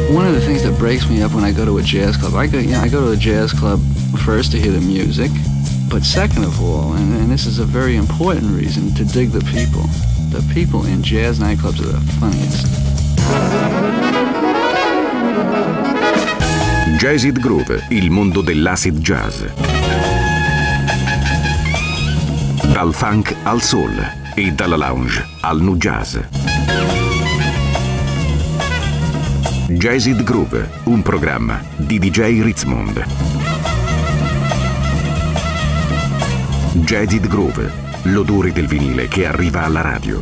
One of the things that breaks me up when I go to a jazz club, I go to a jazz club first to hear the music, but second of all, and this is a very important reason, to dig the people. The people in jazz nightclubs are the funniest. Jazzid Groove, il mondo dell'acid jazz. Dal funk al soul e dalla lounge al nu jazz. Jazzid Groove, un programma di DJ Ritzmond. Jazzid Groove, l'odore del vinile che arriva alla radio.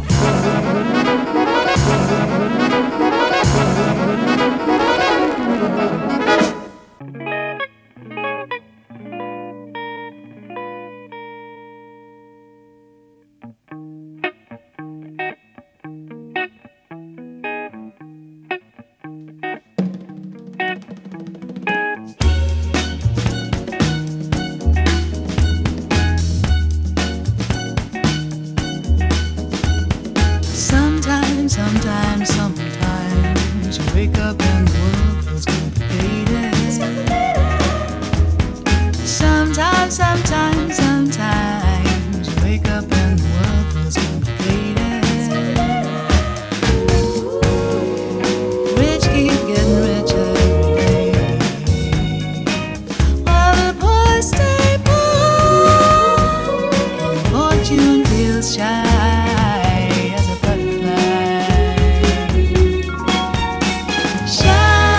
Sometimes you wake up and the world feels complicated. Sometimes you wake up and the world feels complicated. Rich keep getting richer every day, while the poor stay poor, and fortune feels shy. Shine.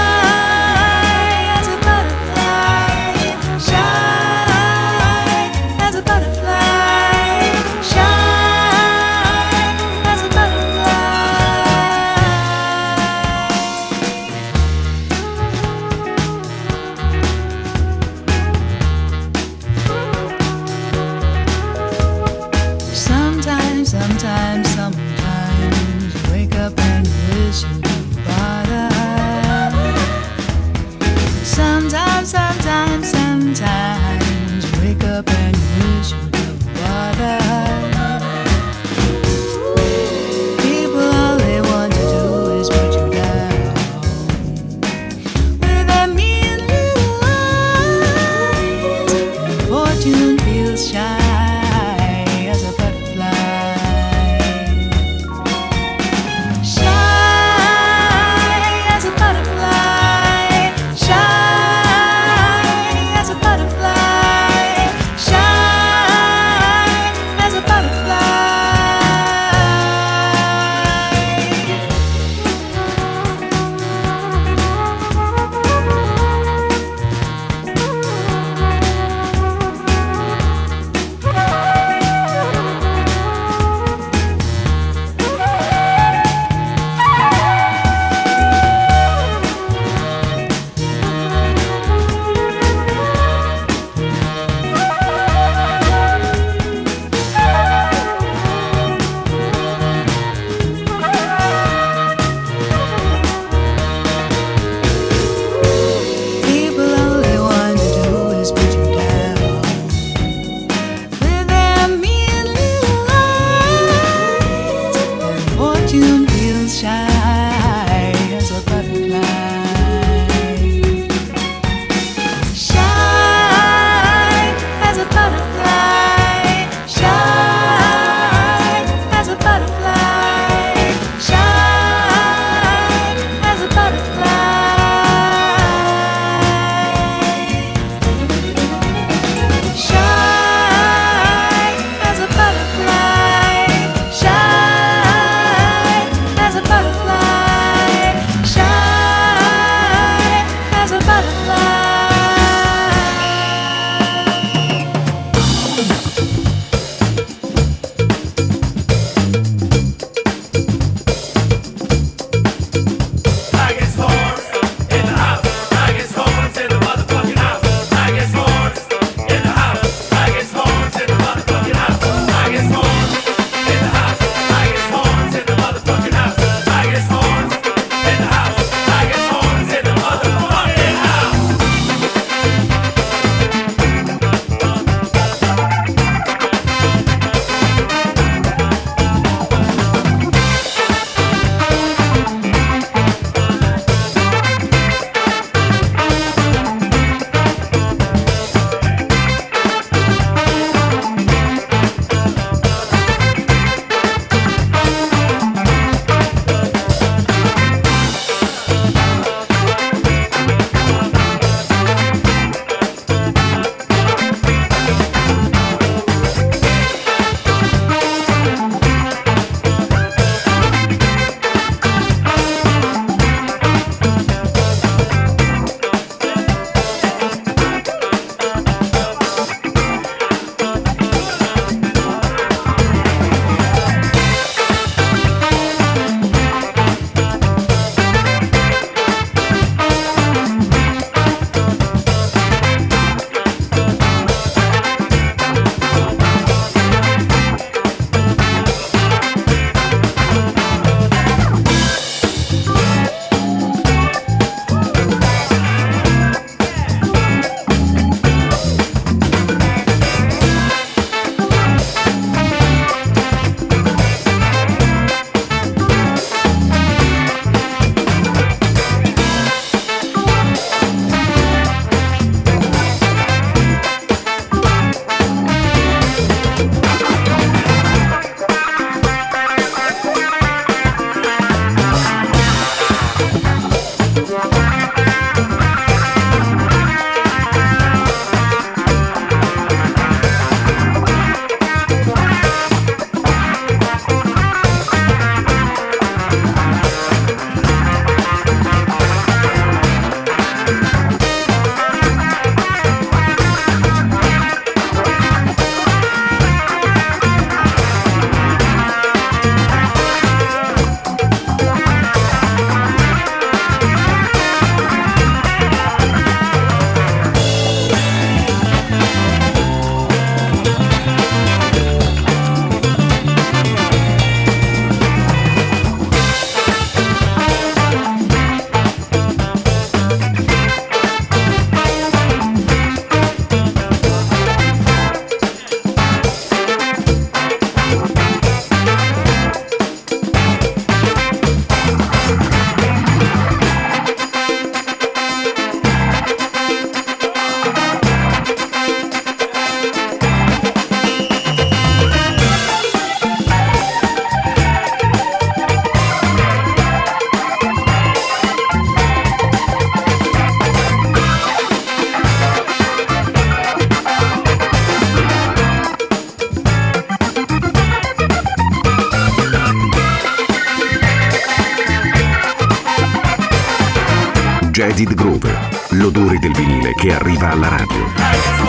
Acid Groove, l'odore del vinile che arriva alla radio.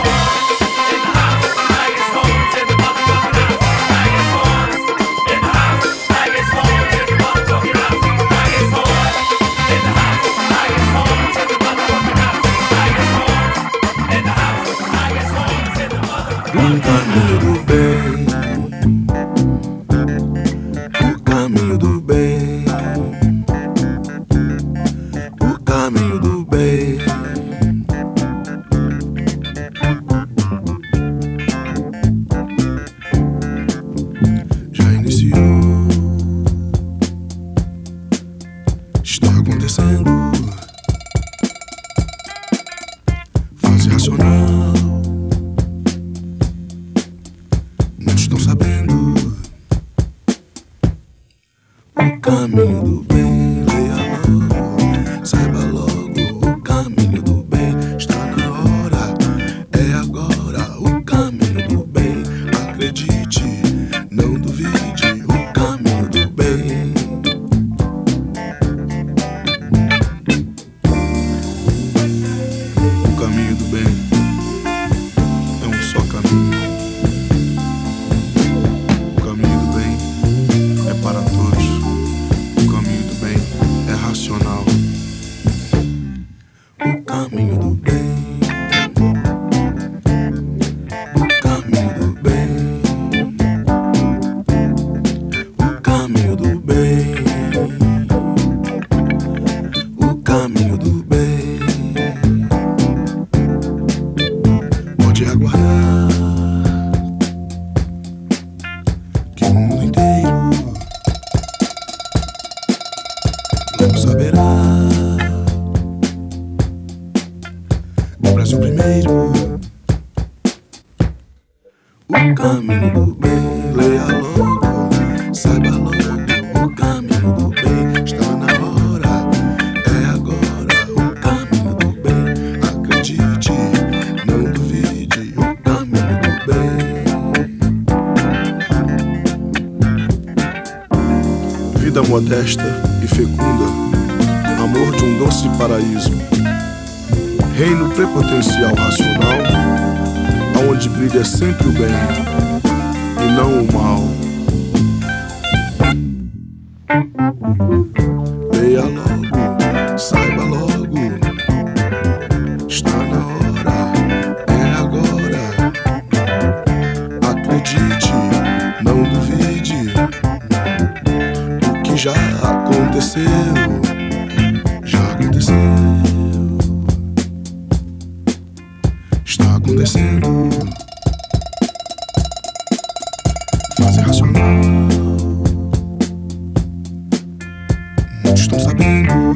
O caminho do bem, o caminho do bem, o caminho do bem. Já iniciou, está acontecendo. Fase racional. Estão sabendo o caminho do bem, leia logo, saiba logo o caminho do bem, está na hora, é agora o caminho do bem, acredite, não duvide, o caminho do bem. O caminho do bem é um só caminho. Para todos, o caminho do bem é racional. O caminho do bem, o caminho do bem, o caminho do bem, o caminho do bem. Pode aguardar que o mundo inteiro não saberá. O Brasil primeiro. O caminho do bem, leia logo, saiba logo. O caminho do bem está na hora, é agora. O caminho do bem, acredite, não duvide. O caminho do bem. Vida modesta e fecunda, amor de um doce paraíso, reino prepotencial racional, aonde brilha sempre o bem e não o mal. Leia logo, saiba logo, está na hora, é agora, acredite, não duvide. O que já aconteceu, já aconteceu, está acontecendo. Fase racional, muitos estão sabendo.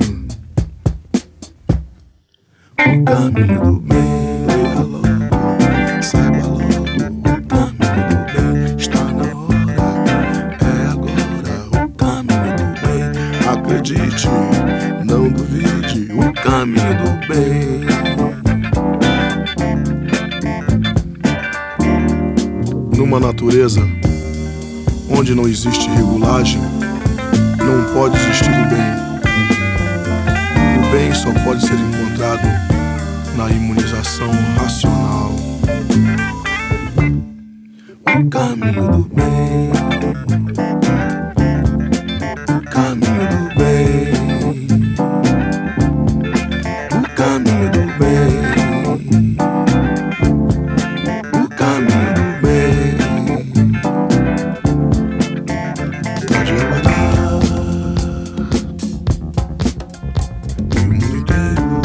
O caminho do bem, leia logo, saiba logo. O caminho do bem está na hora, é agora. O caminho do bem, acredite, não duvide. O caminho do bem. Numa natureza onde não existe regulagem, não pode existir o bem. O bem só pode ser encontrado na imunização racional. O caminho do bem, o caminho do bem, o caminho do bem, o caminho do bem. Pode aguardar que o mundo inteiro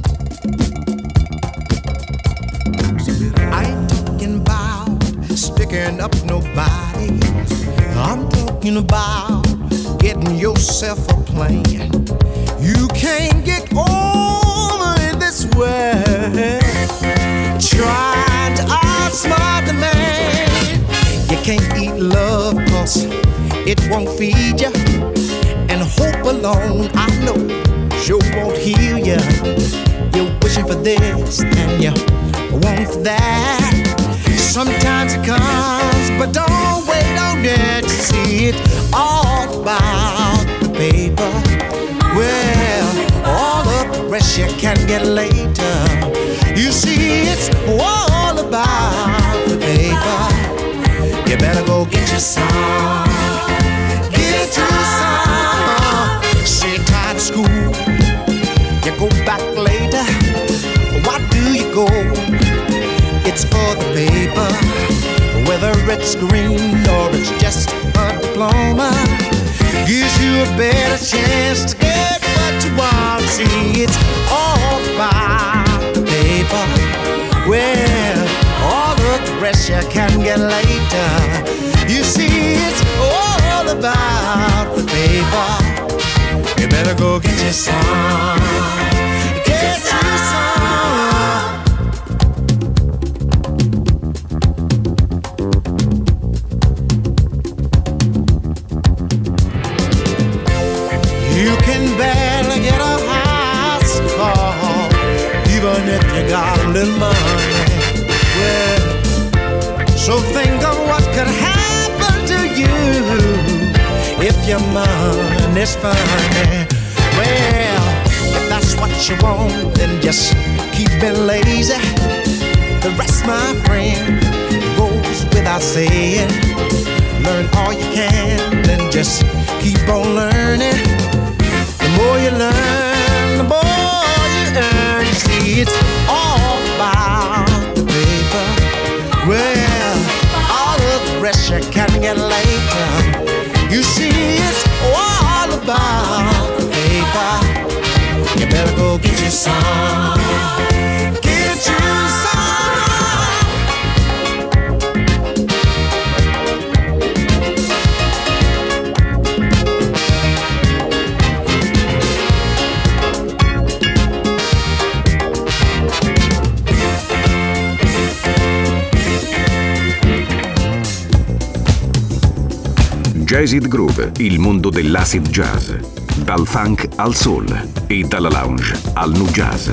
saberá. I ain't talking about sticking up nobody. I'm talking about getting yourself a plan. You can't get over in this way trying to outsmart the man. You can't eat love 'cause it won't feed you, and hope alone I know sure won't heal you. You're wishing for this and you want for that. Sometimes it comes, but don't wait on it to see it all about the paper. Well, all of the rest you get later. You see, it's all about the paper. You better go get your some. Get your some. Sit tired of school. You go back later. Why do you go? It's for the paper. Whether it's green or it's just a diploma, gives you a better chance to get what you want. See, it's all about the paper. Well, all of the rest you can get later. You see, it's all about the paper. You better go get your some. Get your some. You can barely get a house call, even if you got a little money. Well, so think of what could happen to you if your money's funny. Well, if that's what you want, then just keep being lazy. The rest, my friend, goes without saying. Learn all you can, then just keep on learning. The more you learn, the more you earn. You see, it's all about the paper. Well, all of the rest you can get later. You see, it's all about the paper. You better go get you some. Get you some. Jazzid Groove, il mondo dell'acid jazz. Dal funk al soul e dalla lounge al nu jazz.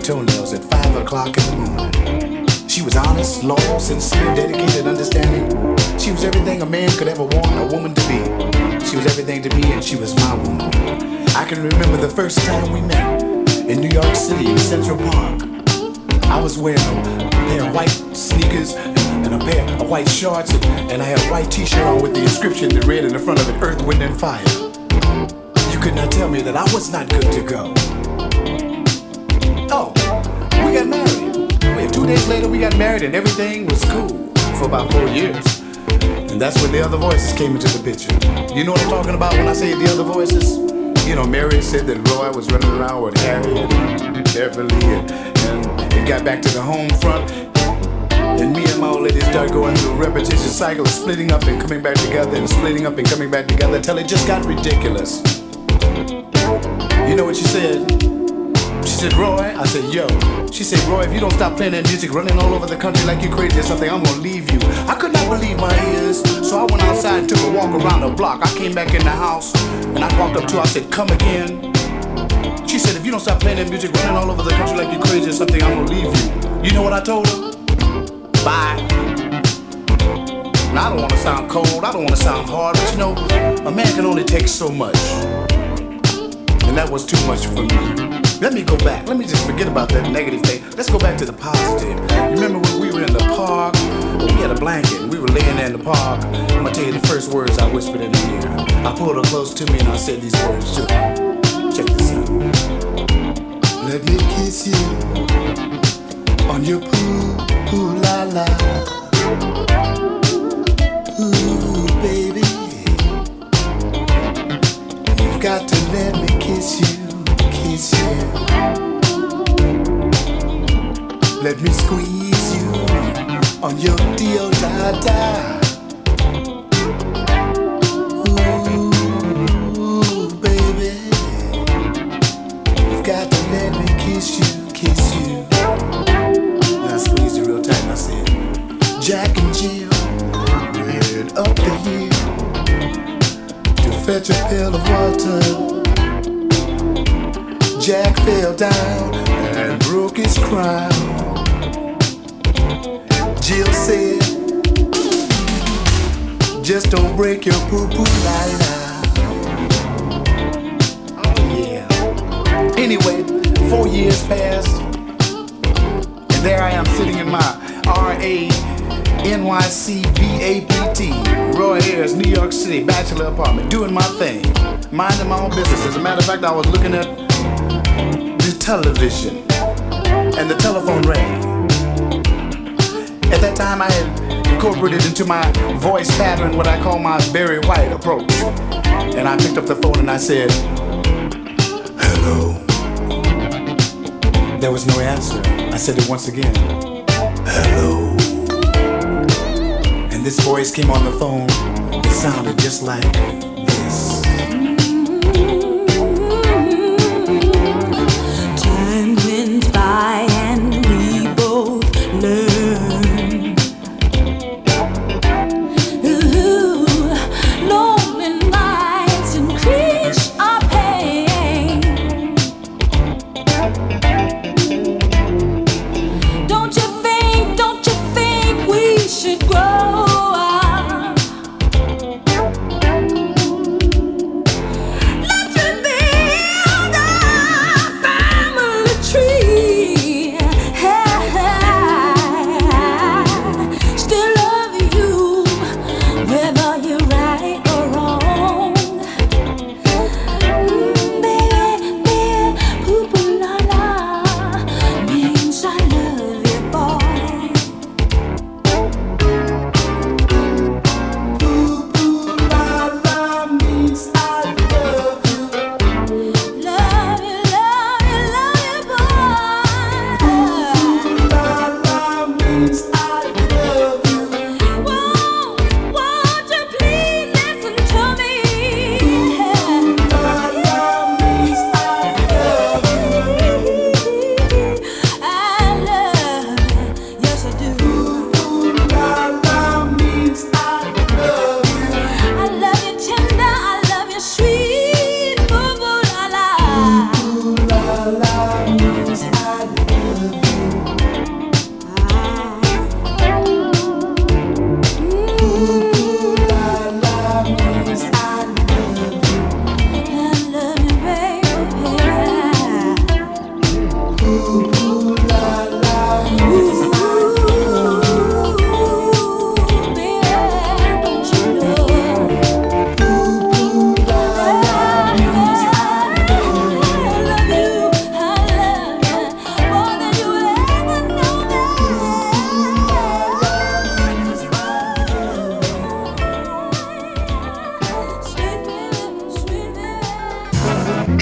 toenails at 5 o'clock in the morning. She was honest, loyal, sincere, dedicated, understanding. She was everything a man could ever want a woman to be. She was everything to me and she was my woman. I can remember the first time we met in New York City in Central Park. I was wearing a pair of white sneakers and a pair of white shorts, and I had a white t-shirt on with the inscription that read in the front of it, Earth, Wind, and Fire. You could not tell me that I was not good to go. Oh, we got married. 2 days later we got married and everything was cool for about 4 years. And that's when the other voices came into the picture. You know what I'm talking about when I say the other voices? You know, Mary said that Roy was running around with Harry and Beverly and it got back to the home front. And me and my old lady started going through a repetitious cycle of splitting up and coming back together and splitting up and coming back together until it just got ridiculous. You know what she said? She said, Roy, I said, yo. She said, Roy, if you don't stop playing that music, running all over the country like you crazy or something, I'm gonna leave you. I could not believe my ears, so I went outside and took a walk around the block. I came back in the house, and I walked up to her, I said, come again. She said, if you don't stop playing that music, running all over the country like you crazy or something, I'm gonna leave you. You know what I told her? Bye. Now, I don't wanna sound cold, I don't wanna sound hard, but you know, a man can only take so much. And that was too much for me. Let me go back. Let me just forget about that negative thing. Let's go back to the positive. Remember when we were in the park? Well, we had a blanket and we were laying there in the park. I'm gonna tell you the first words I whispered in her ear. I pulled her close to me and I said these words to her. Check this out. Let me kiss you on your poo la la. Ooh, baby, you've got to let me kiss you. Let me squeeze you on your dio da da. Ooh, baby, you've got to let me kiss you. And I squeezed you real tight and I said, Jack and Jill ran up the hill to fetch a pail of water. Jack fell down and broke his crown. Jill said, just don't break your poo-poo la-la. Oh yeah. Anyway, 4 years passed, and there I am sitting in my R.A.N.Y.C. B.A.P.T. Roy Ayers, New York City, bachelor apartment, doing my thing, minding my own business. As a matter of fact, I was looking at the television, and the telephone rang. At that time, I had incorporated into my voice pattern what I call my Barry White approach. And I picked up the phone and I said, hello. There was no answer. I said it once again, hello. And this voice came on the phone. It sounded just like this. Time went by and we both learned. Lonely nights increase our pain. Don't you think we should grow up? Let's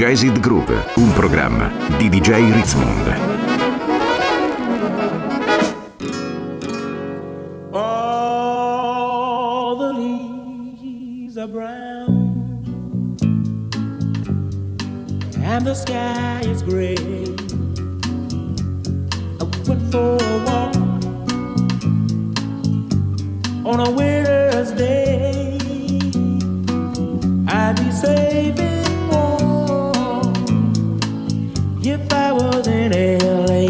Jazzed Groove, un programma di DJ Ritzmond. All the leaves are brown and the sky is gray. I went for a walk on a winter's day. I'd be safe and warm if I was in LA.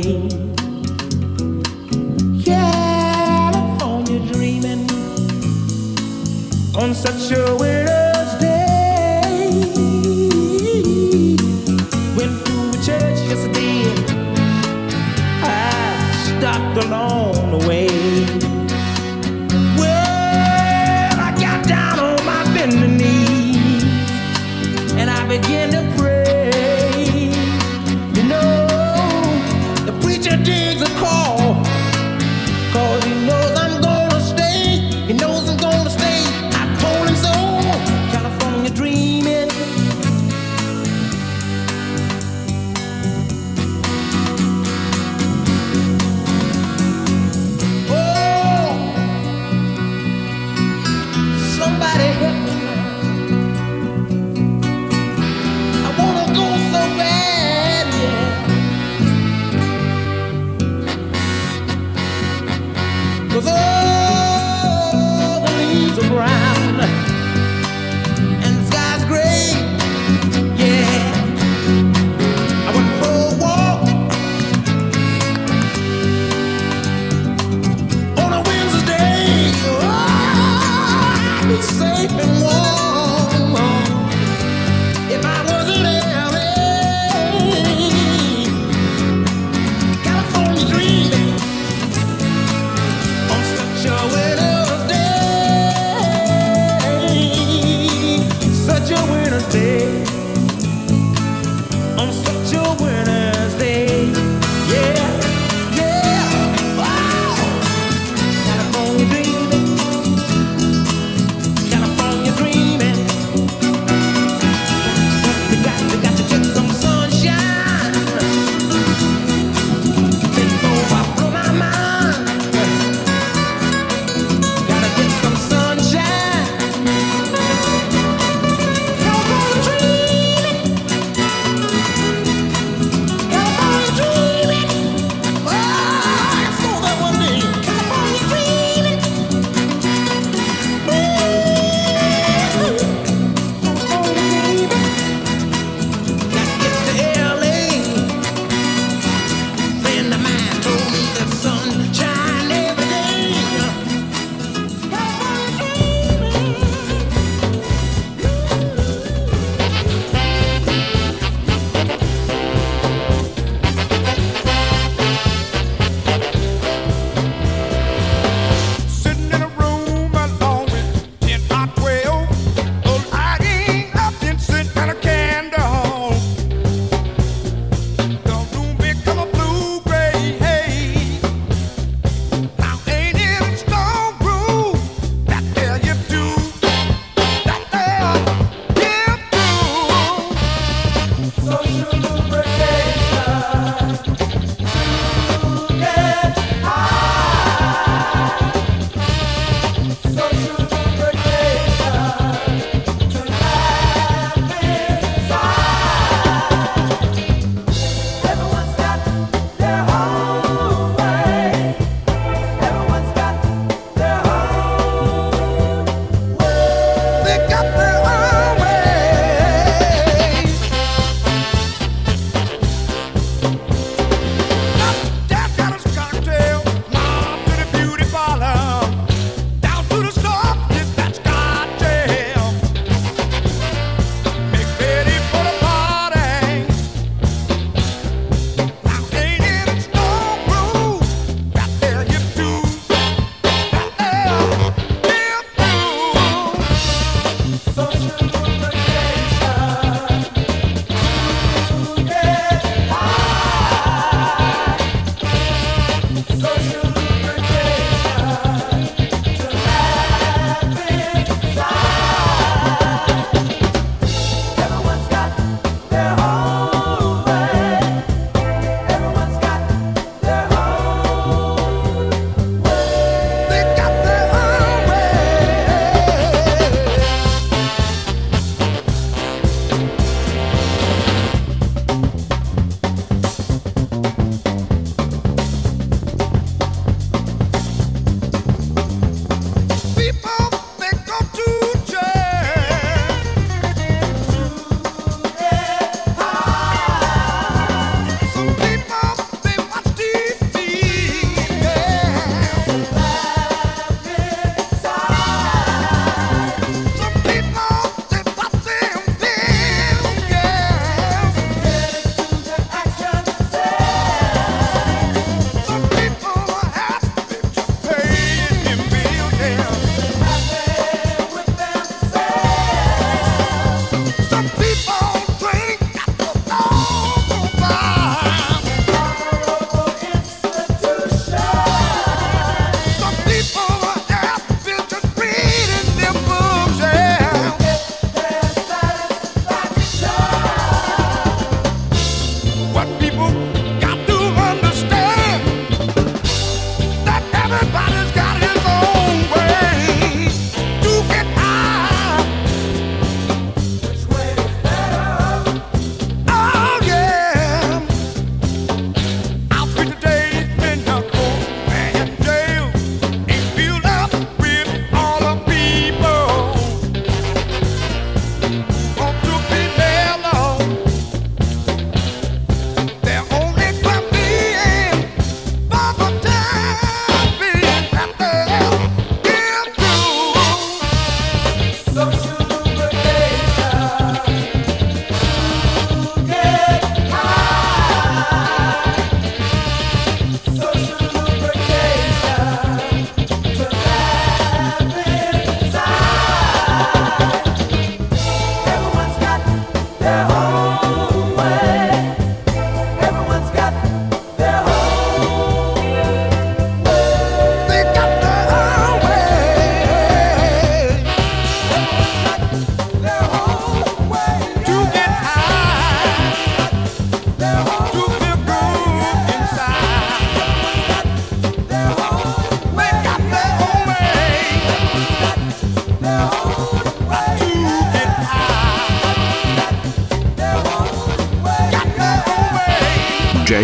California dreaming on such a winter's day. Went to a church yesterday. I stopped along the way. Well, I got down on my bending knee and I began to pray. You know, the preacher digs a call, 'cause he knows I'm gonna stay. He knows I'm gonna stay. I told him so. California dreaming. Oh, somebody help me. I wanna go so bad, yeah. 'Cause all the leaves are brown and the sky's gray, yeah. I went for a walk on a Wednesday. Oh, I'd be safe and warm if I was in LA. California dreaming on such a winter's day. Such a winter's day. On such a winter's day. Yeah, yeah. Wow. California dreaming. California dreaming. You got to get some sunshine before I blow my mind. Gotta get some sunshine. California dreaming. California dreaming. Oh, I saw that one day. California dreaming. Got to get to LA. Friend of mine told me the sun shine every day. California dreaming. Sitting in a room alone with 10 or 12, lighting up incense and a candle. The room become a blue-gray haze. Now ain't it a strong groove that tell you to, that tell you to. Social lubrication to get high. Social lubrication to laugh inside. Everyone's got their own way. Everyone's got their own way. They got their own way. Down Dallas cocktail, mom to the beauty parlor, down to the store, get that cocktail. Make ready for the party. Now ain't it a strong groove that tell you to, that tell you to. Social lubrication to get high. Social lubrication to laugh inside. Everyone's got their own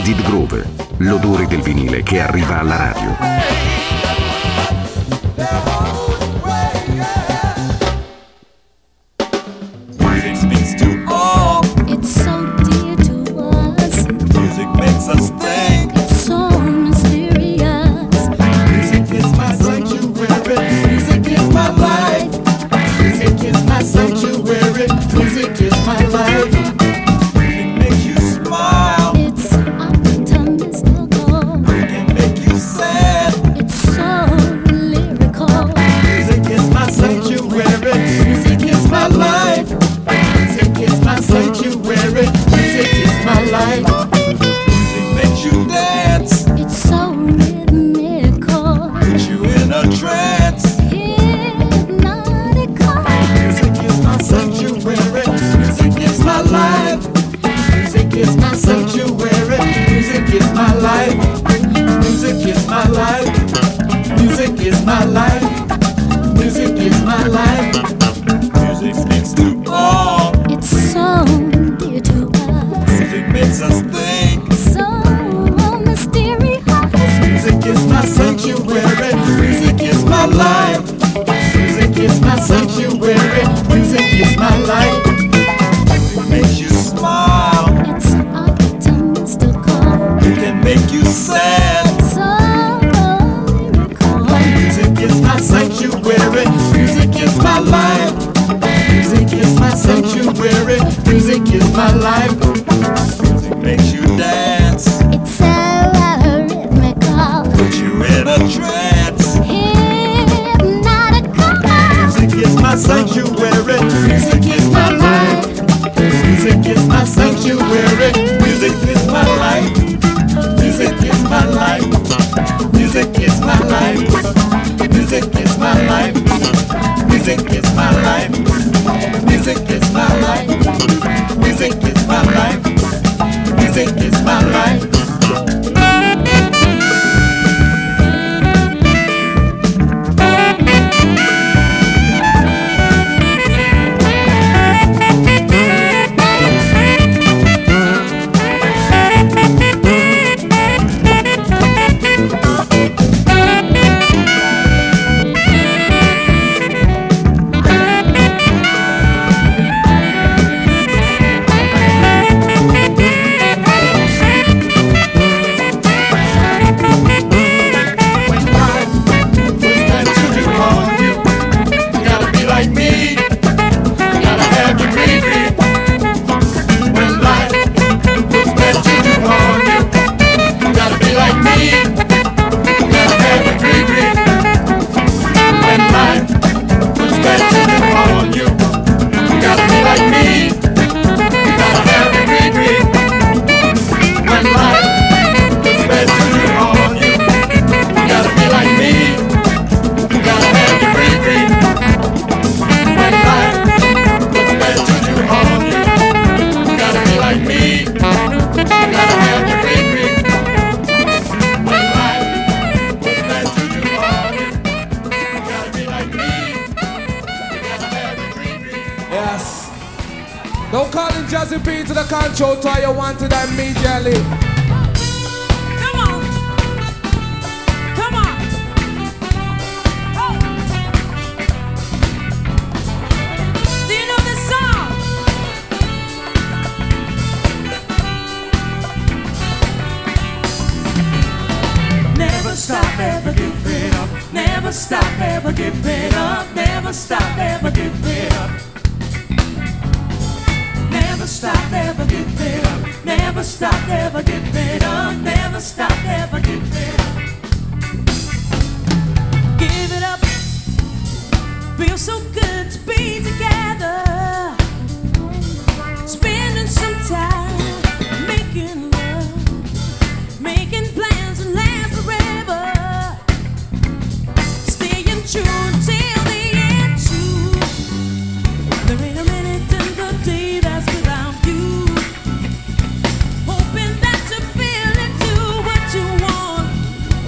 Acid Groove, l'odore del vinile che arriva alla radio. Don't call in Jazzy P to the control tower, you want it immediately. Come on. Come on. Oh. Do you know this song? Never stop, ever give it up. Never stop, ever give it up. Never stop, ever give it up. Never stop, ever give it up. Never stop, ever give it up. Never stop, ever give it up. Give it up. Feels so good to be together. Spending some time making love, making plans that last forever. Staying true till the end. True. There ain't a minute in the day that's without you. Hoping that you feel it, do what you want.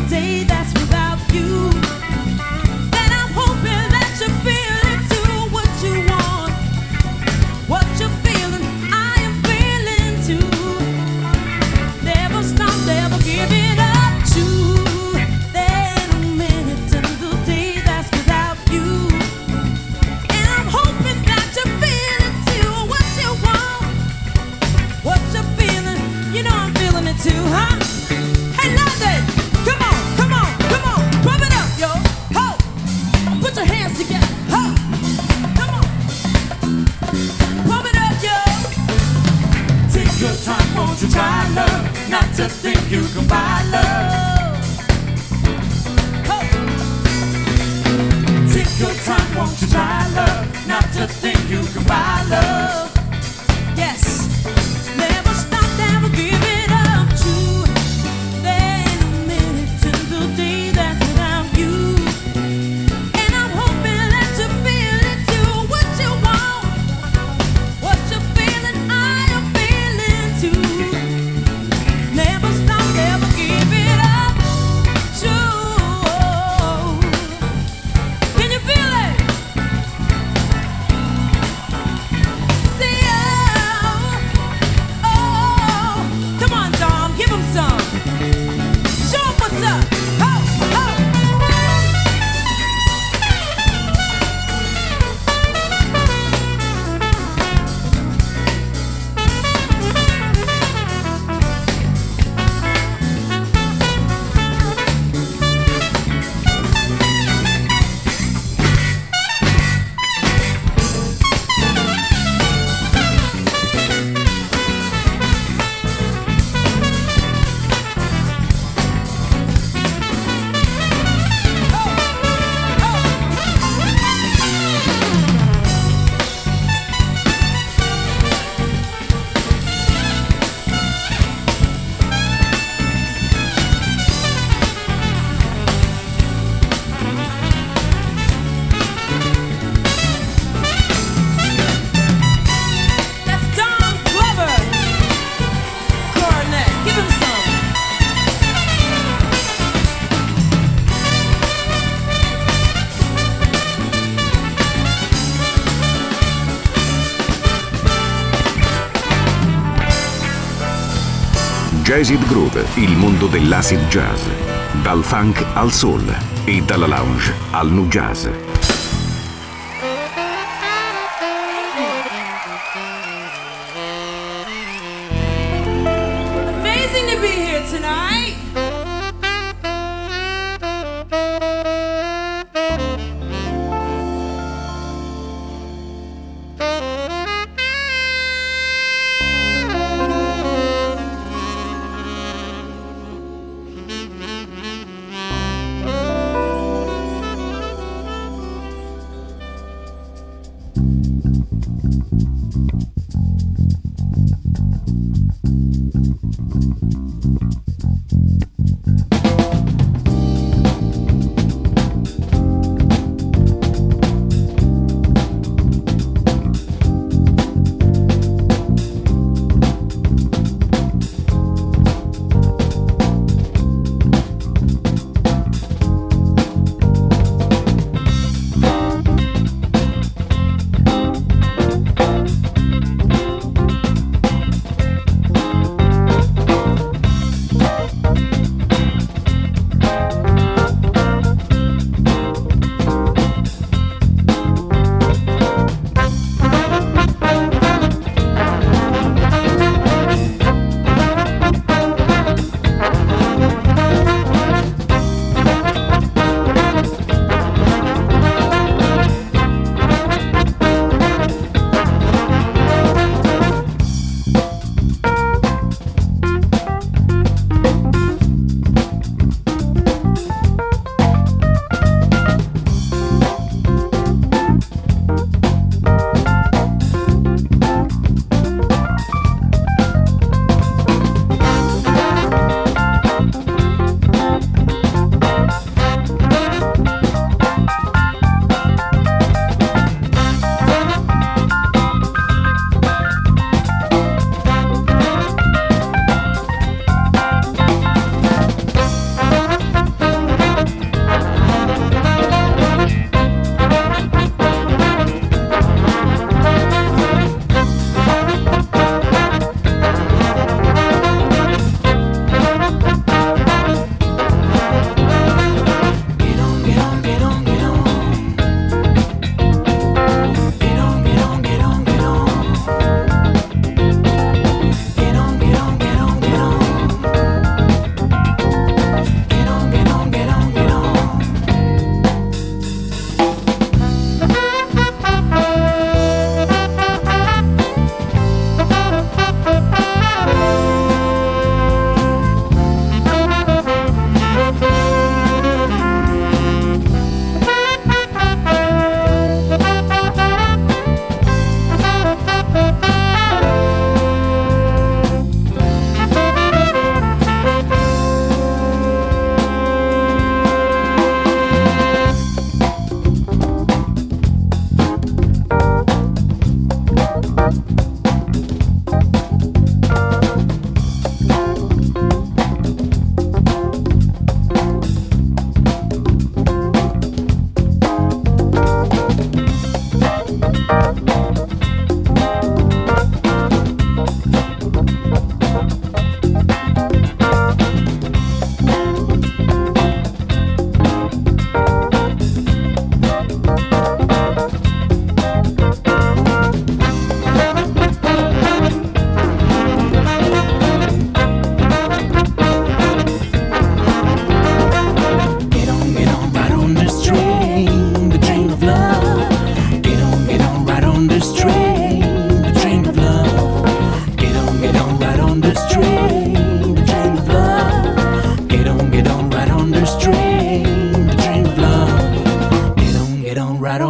day that's without you. And I'm hoping that you feel it too. What you want, what you're feeling, I am feeling too. Never stop, never give it up to. Then a minute in the day that's without you. And I'm hoping that you feel it too. What you want, what you're feeling, you know I'm feeling it too, huh? Hey, London, come on, come on, come on, pump it up, yo, ho! Put your hands together, ho! Come on, pump it up, yo! Take your time, won't you try, love, not to think you can buy love. Ho! Take your time, won't you try, love, not to think you can buy love. Yes, never stop, never give it up to. Then a minute in the day that's without you. And I'm hoping that you feel it too. What you want, what you're feeling, I am feeling too. Never stop, never give it up to. Can you feel it? See, oh, come on, Dom, give him some. Show him what's up. Ho, ho. That's Don Glover. Cornet, give him some. Jazz It Groove, il mondo dell'acid jazz. Dal funk al soul e dalla lounge al nu jazz. Amazing to be here tonight.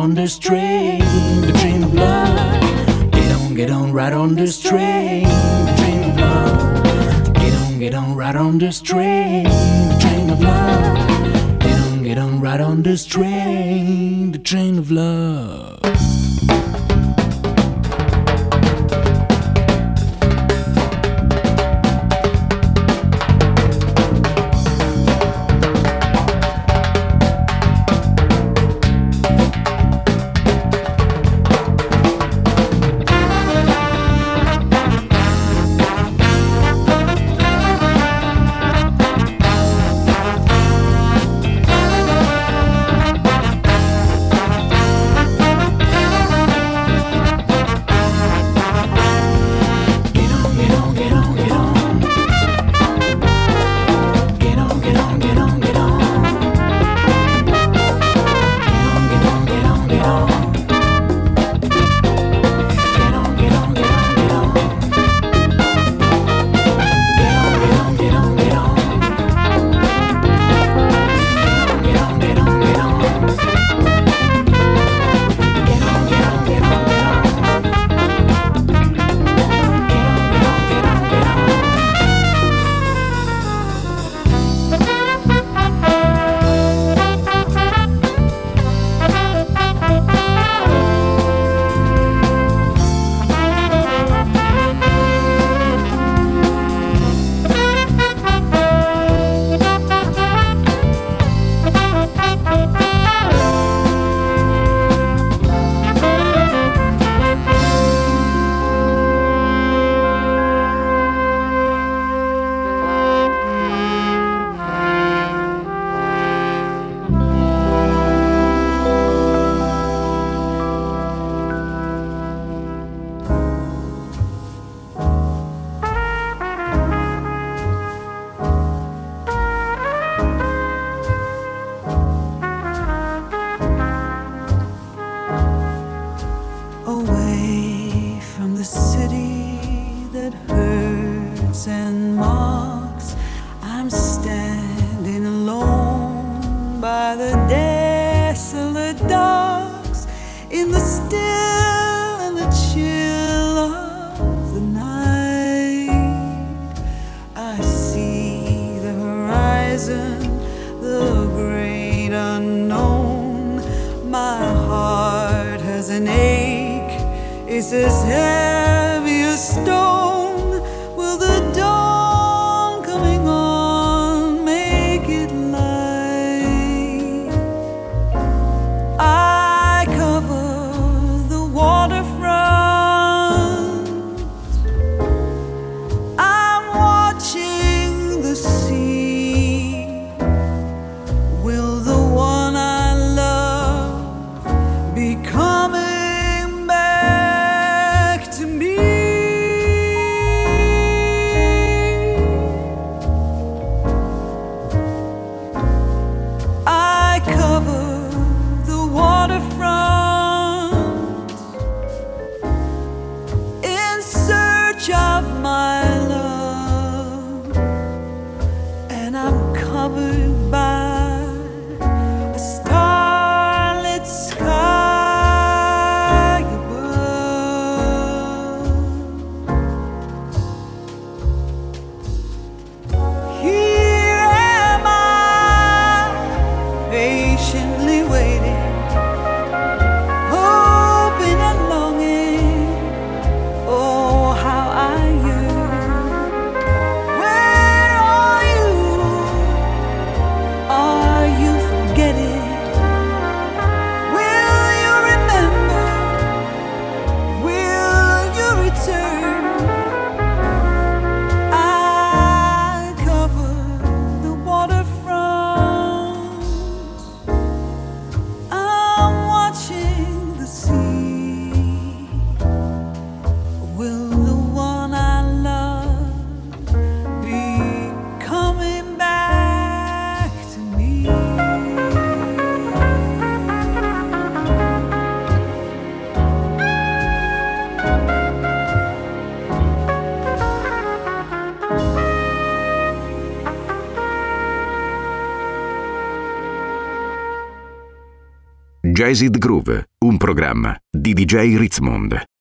on this train, the train of love. Get on right on this train, the train of love. Get on right on this train, the train of love. Get on right on this train, the train of love. Coming back to Jazz It Groove, un programma di DJ Ritzmond.